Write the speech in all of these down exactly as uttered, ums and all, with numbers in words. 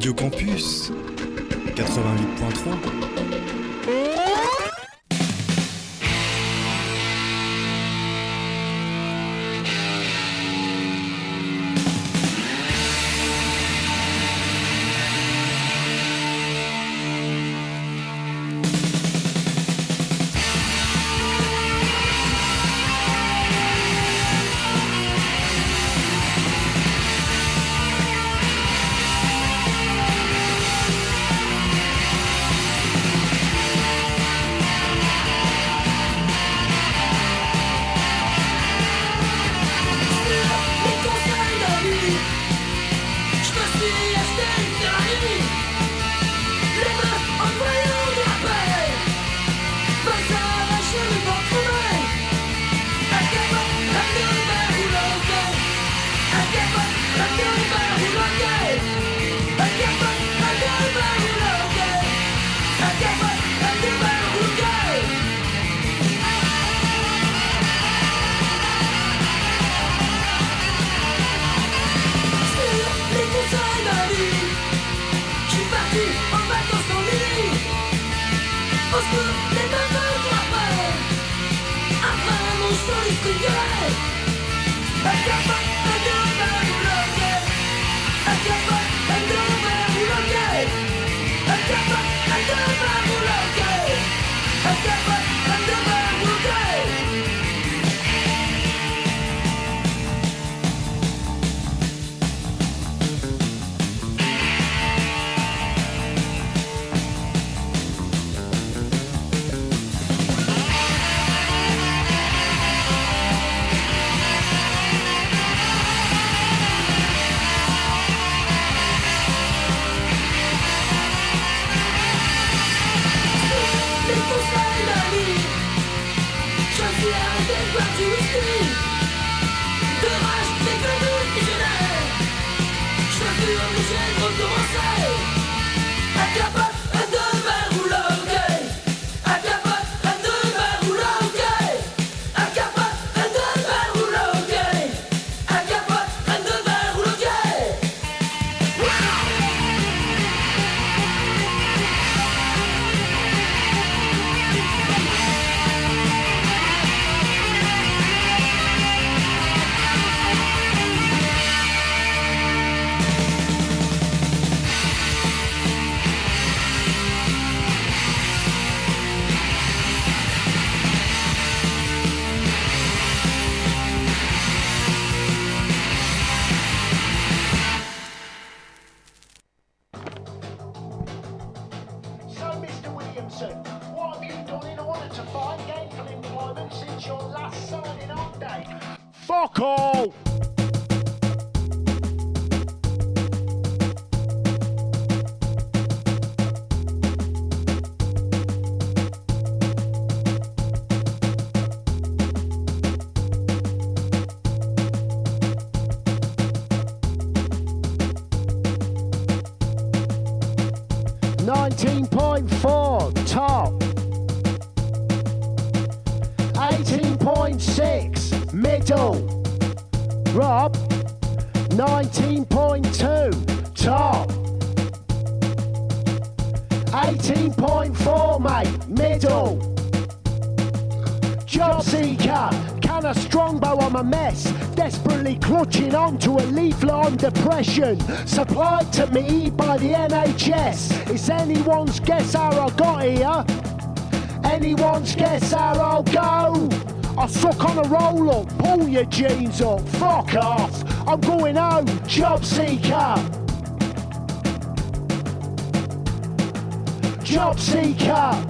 Radio Campus quatre-vingt-huit point trois. nineteen point four, top. eighteen point six, middle. Rob, nineteen point two, top. eighteen point four, mate, middle. Job seeker, can a strongbow on a mess, desperately clutching on to a leaflet on depression, supplied to me by the N H S. It's anyone's guess how I got here. Anyone's guess how I'll go. I suck on a roll up, pull your jeans up, fuck off. I'm going home, job seeker. Job seeker.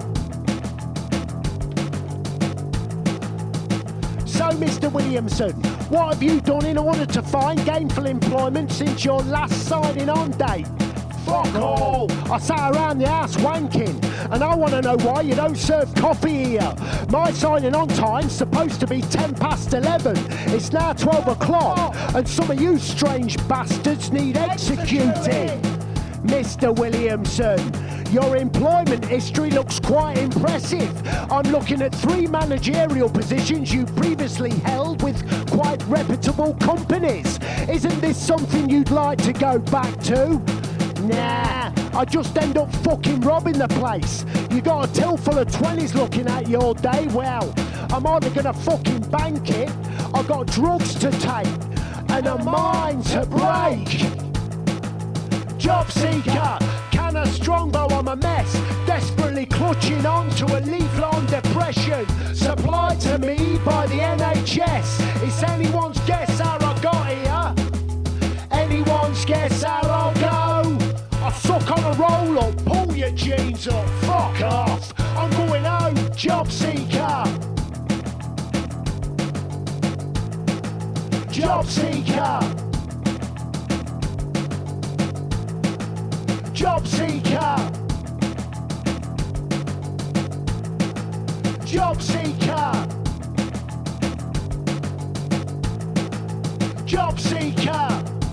So, Mister Williamson, what have you done in order to find gainful employment since your last signing on date? Fuck all! I sat around the house wanking, and I want to know why you don't serve coffee here. My signing on time's supposed to be ten past eleven. It's now twelve o'clock, and some of you strange bastards need executing. Mister Williamson, your employment history looks quite impressive. I'm looking at three managerial positions you previously held with quite reputable companies. Isn't this something you'd like to go back to? Nah, I just end up fucking robbing the place. You got a till full of twenties looking at you all day. Well, I'm either gonna fucking bank it, I got drugs to take, and a mind to break. Job seeker, can of Strongbow, I'm a mess, desperately clutching on to a leaf-long depression, supplied to me by the N H S. It's anyone's guess how I got here, anyone's guess how I'll go. I suck on a roll up, pull your jeans up, fuck off, I'm going home, job seeker. Job seeker. Job seeker. Job seeker. Job seeker.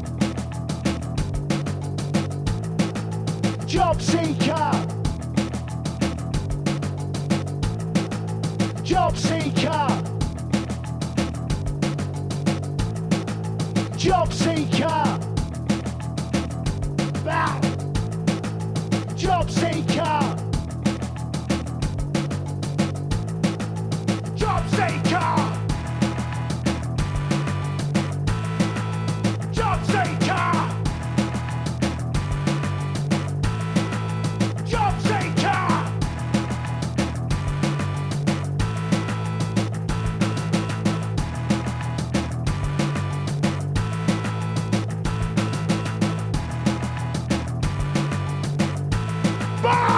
Job seeker. Job seeker. Job seeker. Bow. Job seeker. Job seeker. Job seeker. Job seeker. Bye!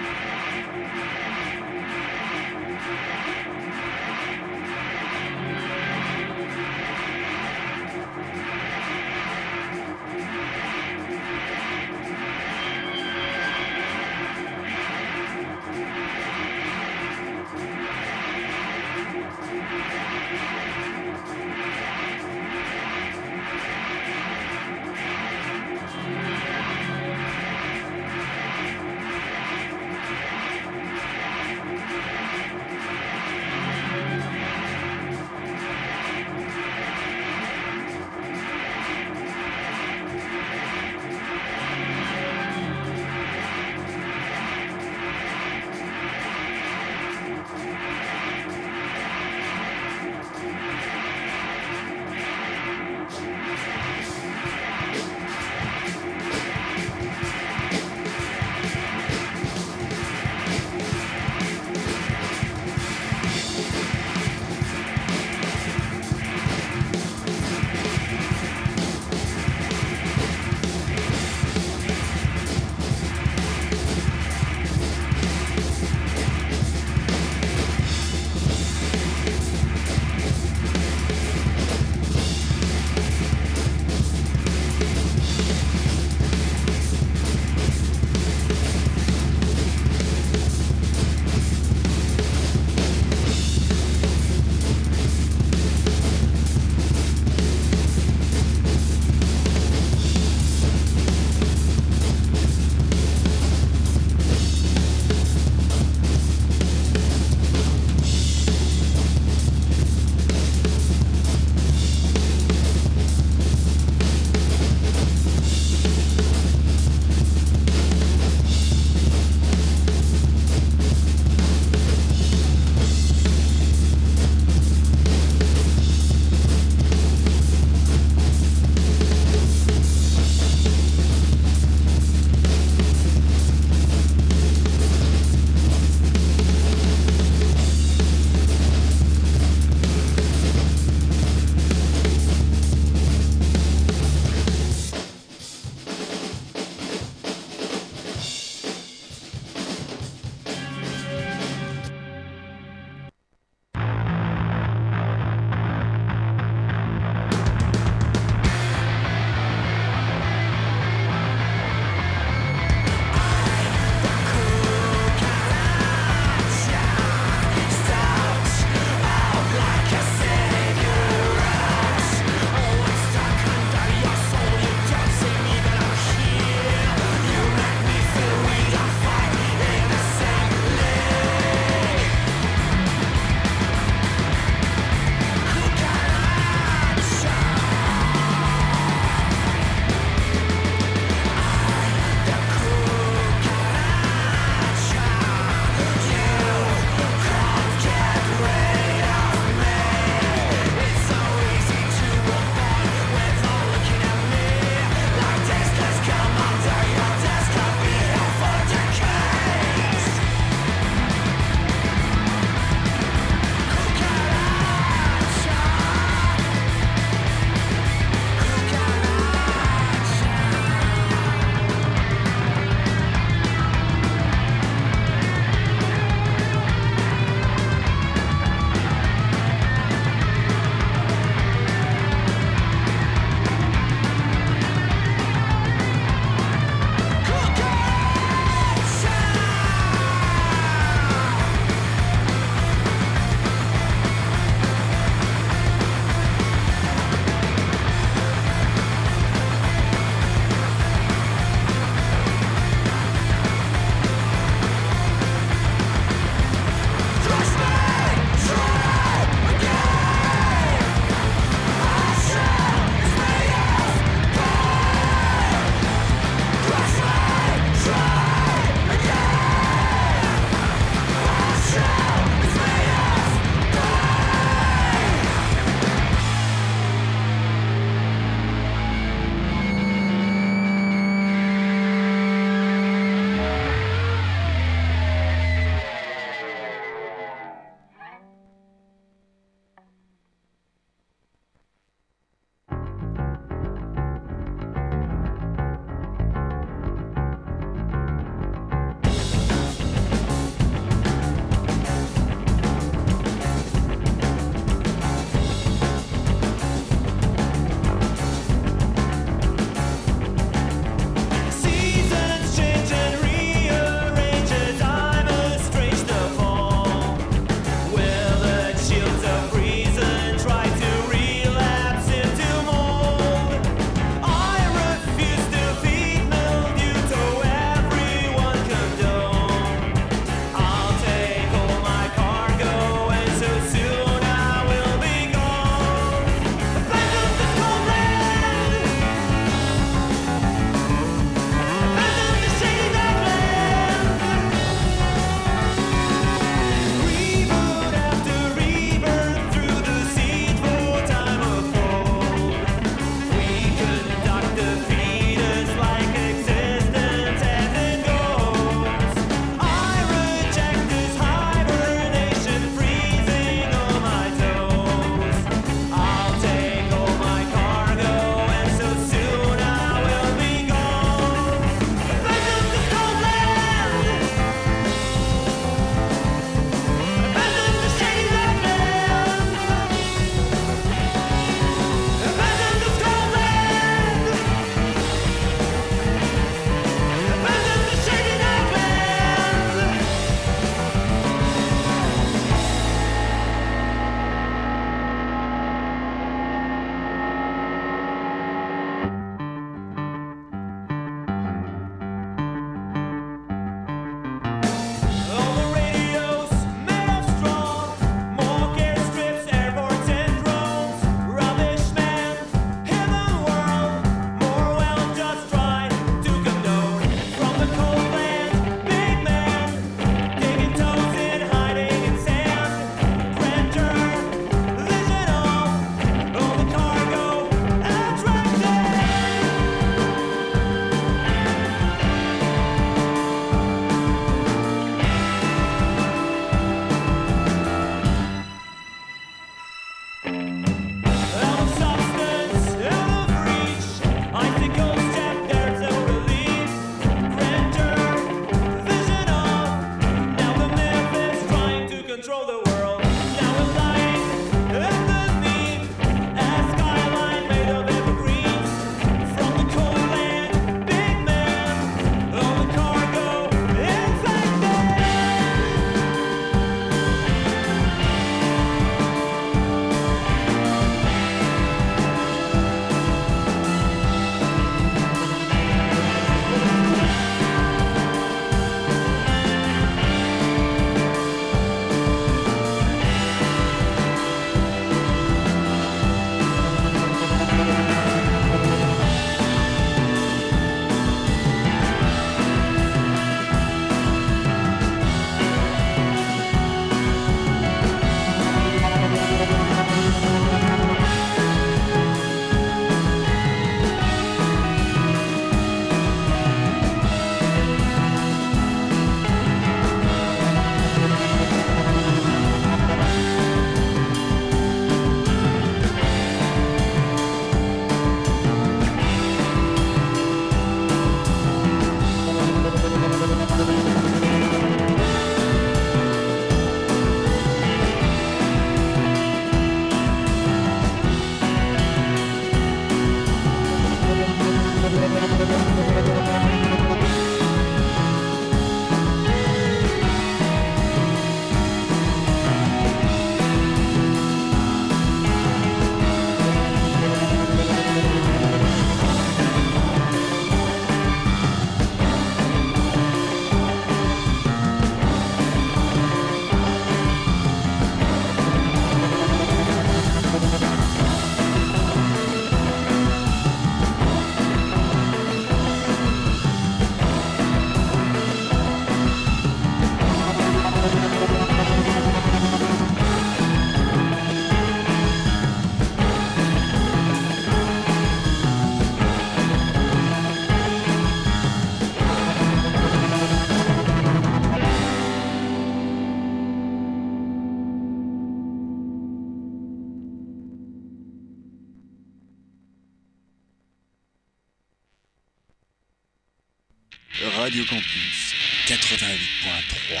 Radio Campus quatre-vingt-huit point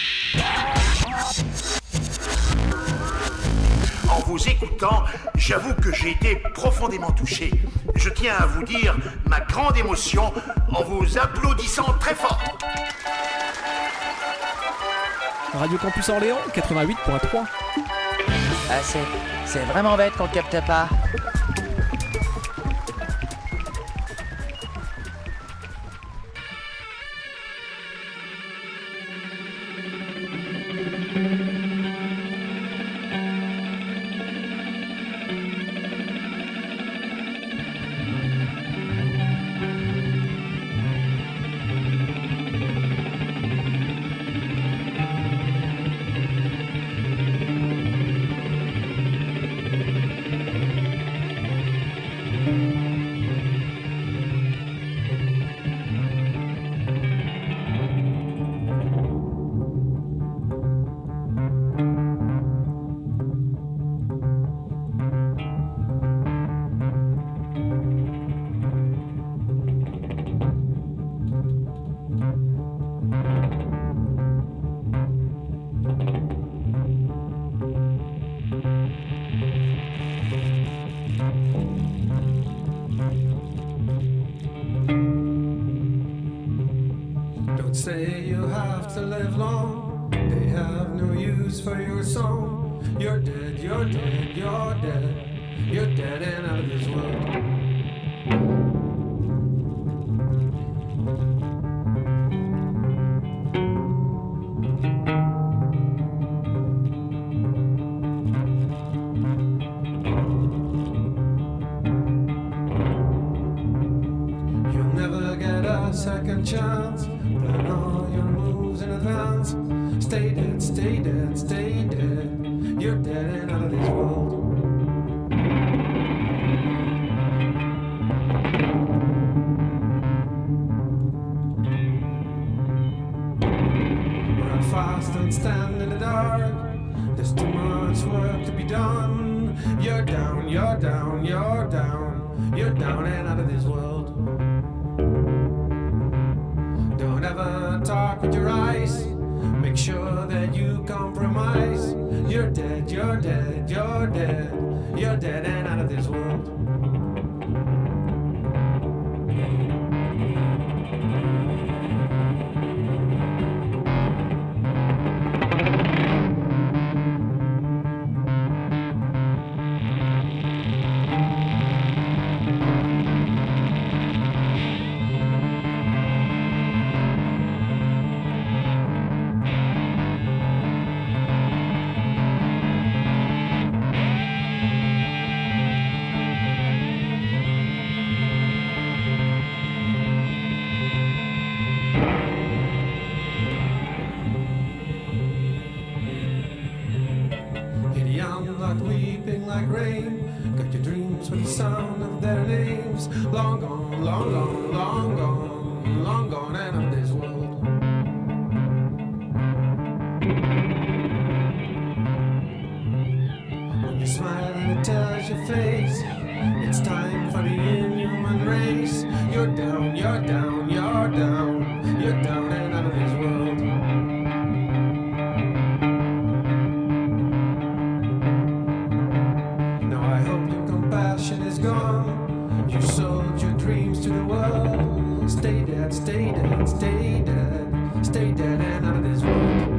trois. En vous écoutant, j'avoue que j'ai été profondément touché. Je tiens à vous dire ma grande émotion en vous applaudissant très fort. Radio Campus Orléans quatre-vingt-huit point trois. Ah, c'est, c'est vraiment bête qu'on capte pas. Say you have to live long, they have no use for your song. You're dead, you're dead, you're dead, you're dead and out of this world. You'll never get a second chance. Plan all your moves in advance. Stay dead, stay dead, stay dead. You're dead and out of this world. Run fast and stand in the dark. There's too much work to be done. You're down, you're down, you're down. You're down and out of this world. Don't ever talk with your eyes. Make sure that you compromise. You're dead, you're dead, you're dead. You're dead and out of this world. Long gone, long gone, long gone, long gone and out of this world. When you smile and it tells your face, it's time for the inhuman race. You're down, you're down, you're down, you're down and out of this world. Now I hope your compassion is gone. You sold your dreams to the world. Stay dead, stay dead, stay dead, stay dead and out of this world.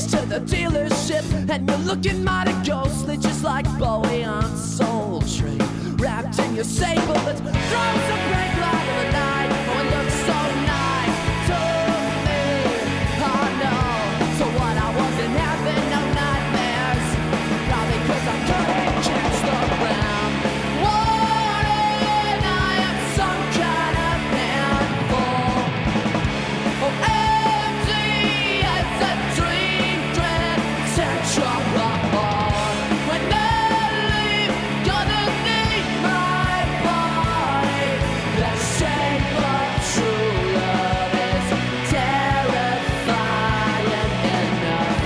race to the dealership, and you're looking mighty ghostly, just like Bowie on Soul Train. Wrapped in your sable that throws a bright light in the night. Oh, it looks so nice to me. Oh no, so what? I wasn't having no nightmares, probably 'cause I couldn't catch the ground. Warning, I am some kind of handful. Oh, empty as a dream, dread, central ball. When they leave, gonna need my body. The shape of true love is terrifying enough.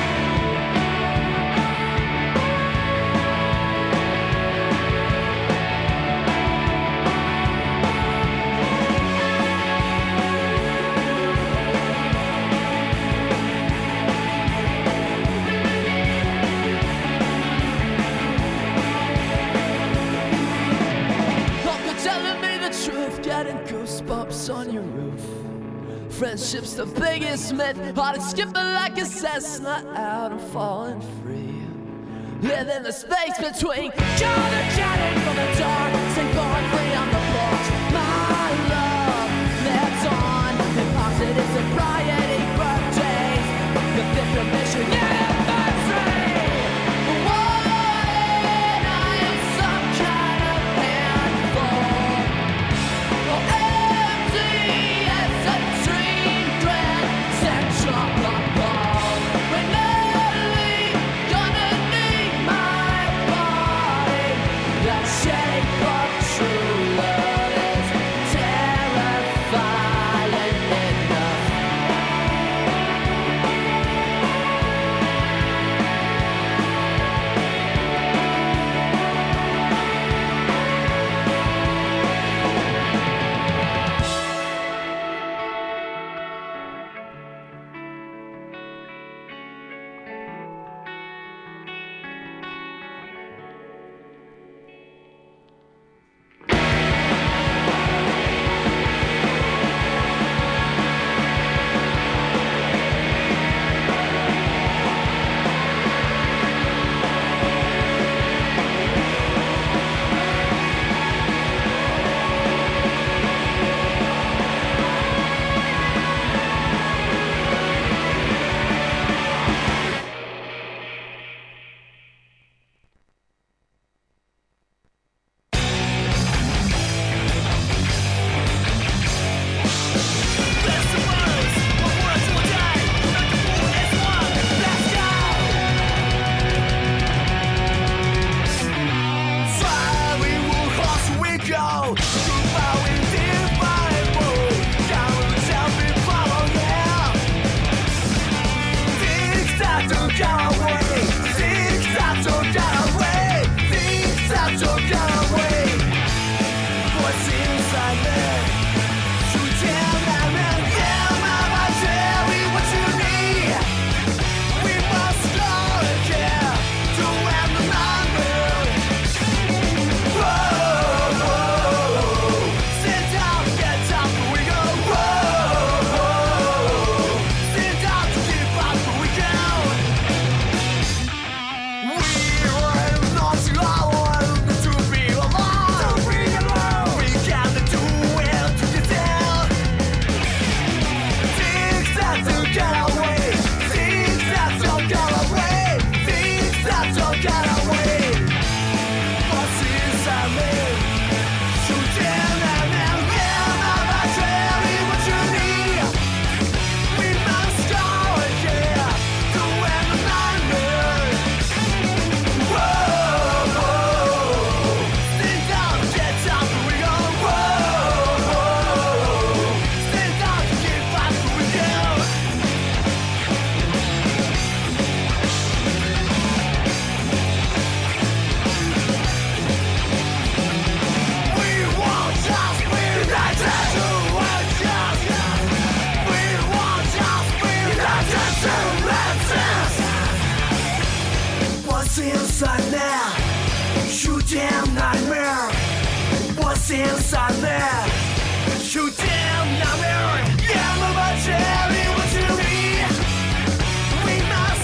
Uncle telling me the truth, getting goosebumps on your roof. Friendship's the biggest myth, heart is skipping like a Cessna out and falling free. Living the space between counter chatting from the dark and going free on the porch. My love lives on in positive sobriety birthdays, the fifth of mission anniversary. Warning, I am some kind of handful. Oh, empty as a dream, dread, central ball. When they leave, gonna need my body. The shape of true love is terrifying enough. inside now? You damn nightmare. What's inside there? You damn nightmare. Yeah, my cherry, what you need? We must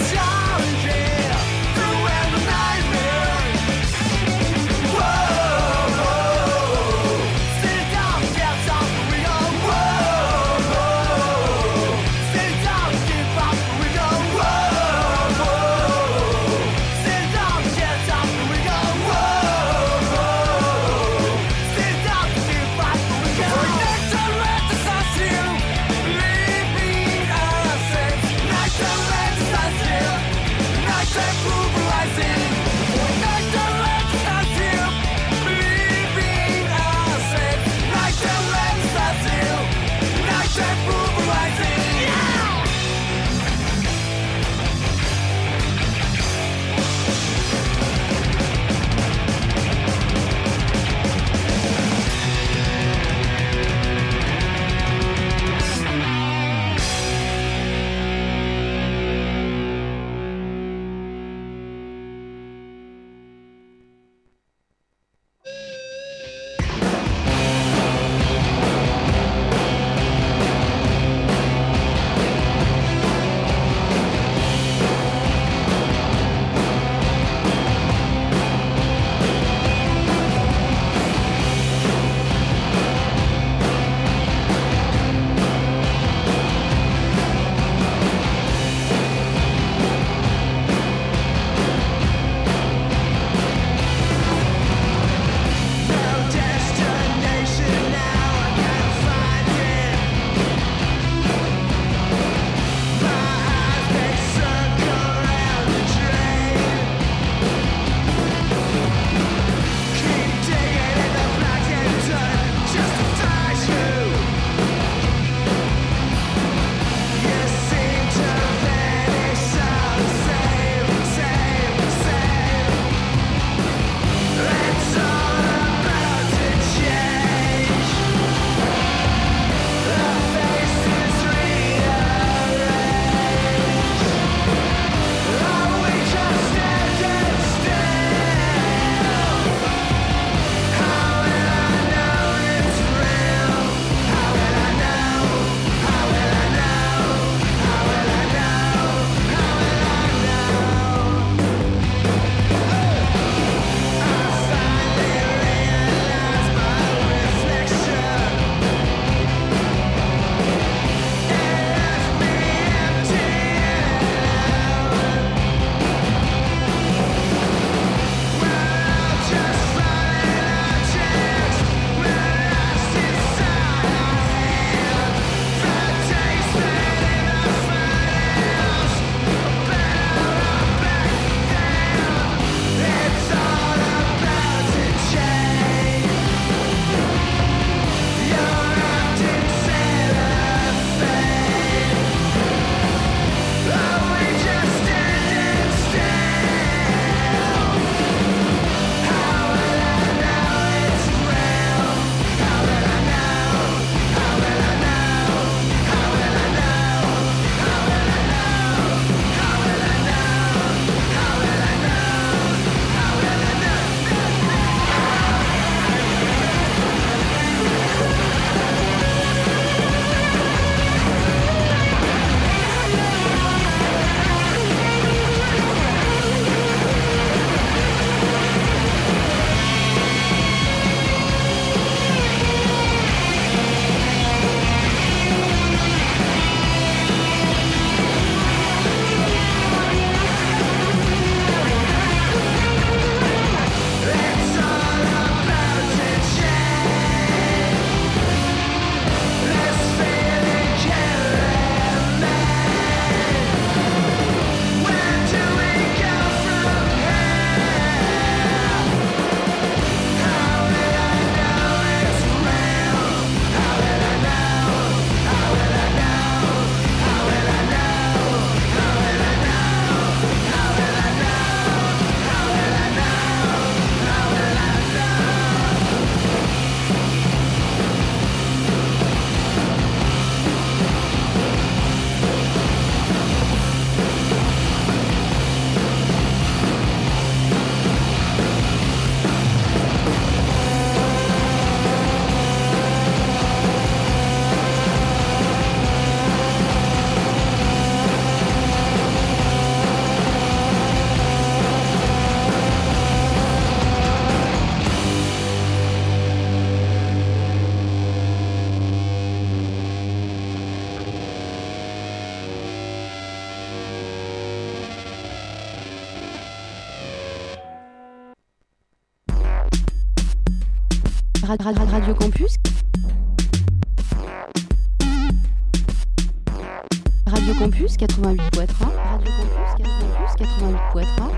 Radio Campus. Radio Campus quatre-vingt-huit point trois. Radio Campus quatre-vingt-huit. Campus quatre-vingt-huit point trois.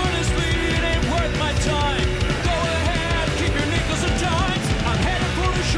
Time. Go ahead, keep your nickels and dimes. I'm headed for the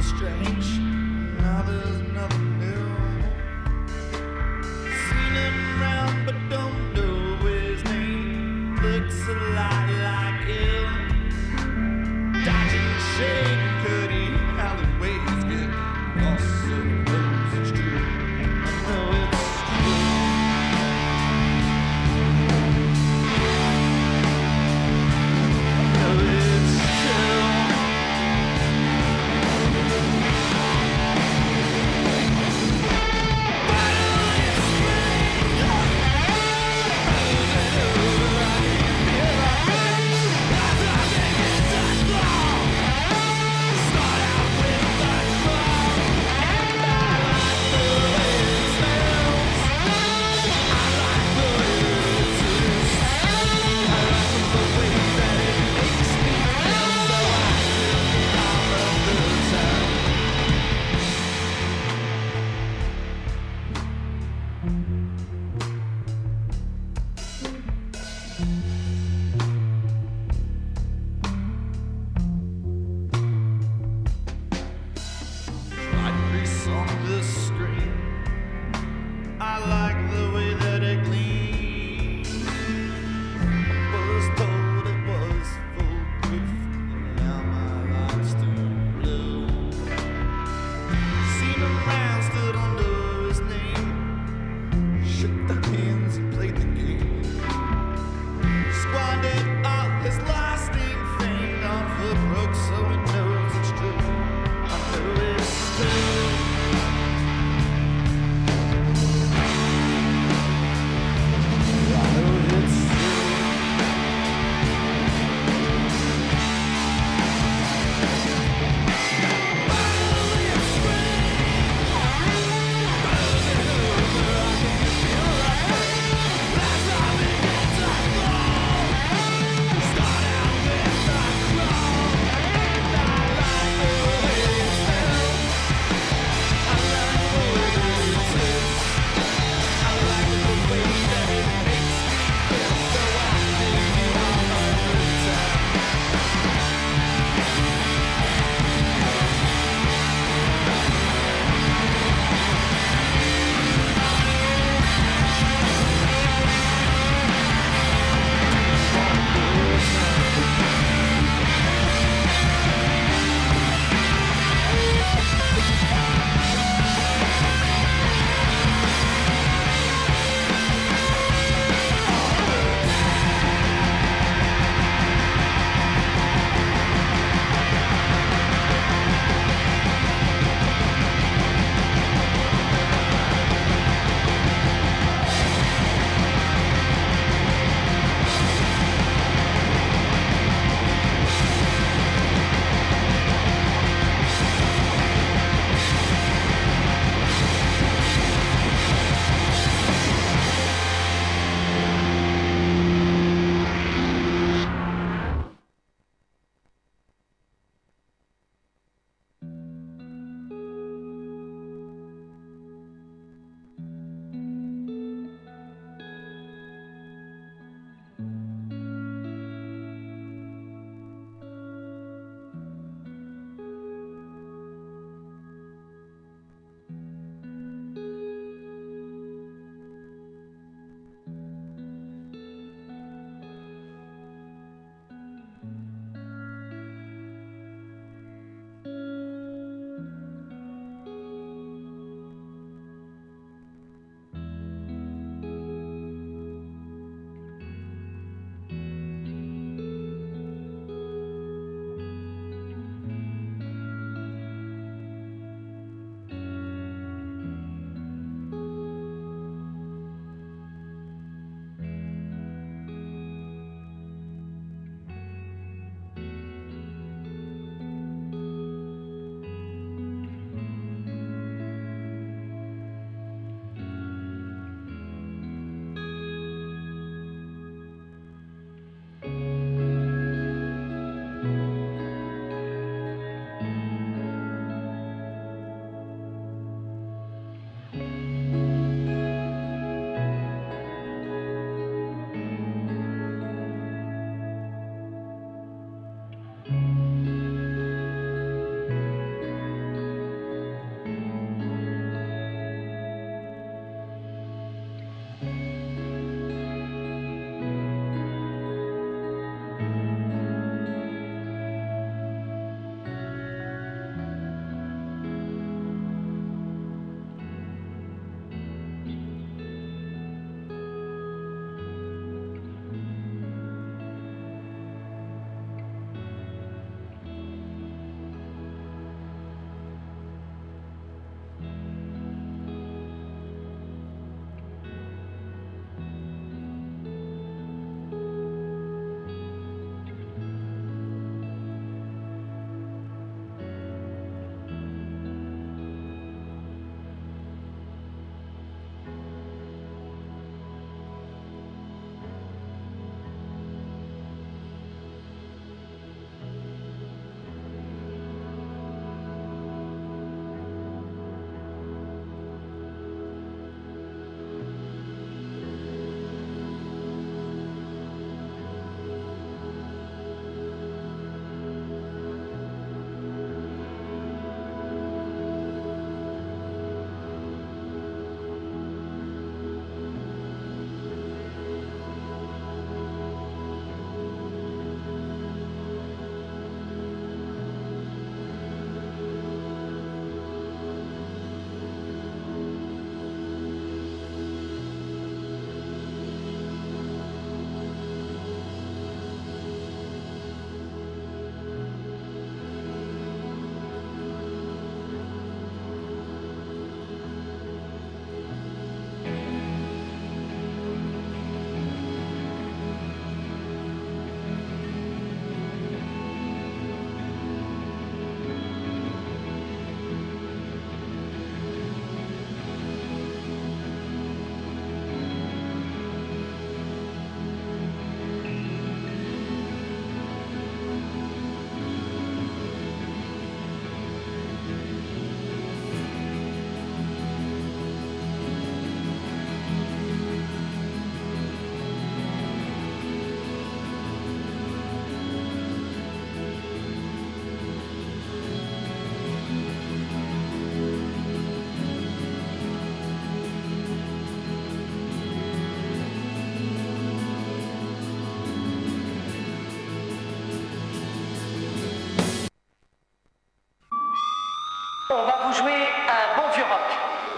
strange. Now there's nothing new. Seen him round but don't know his name. Looks a lot like him. Dodging shade, cutty alleyways, get lost so close. It's true. I know it's true. I know it's true.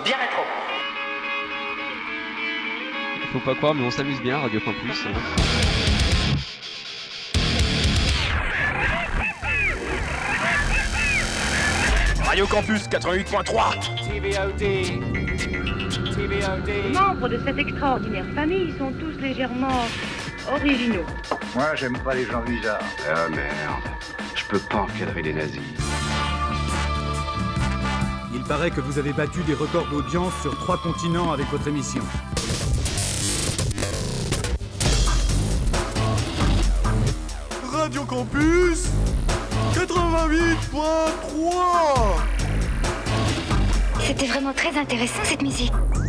bien rétro. Faut pas croire, mais on s'amuse bien, Radio Campus. Radio Campus quatre-vingt-huit point trois. T V O D. T V O D. Les membres de cette extraordinaire famille sont tous légèrement originaux. Moi, j'aime pas les gens bizarres. Ah merde, je peux pas encadrer les nazis. Il paraît que vous avez battu des records d'audience sur trois continents avec votre émission. Radio Campus quatre-vingt-huit point trois. C'était vraiment très intéressant cette musique.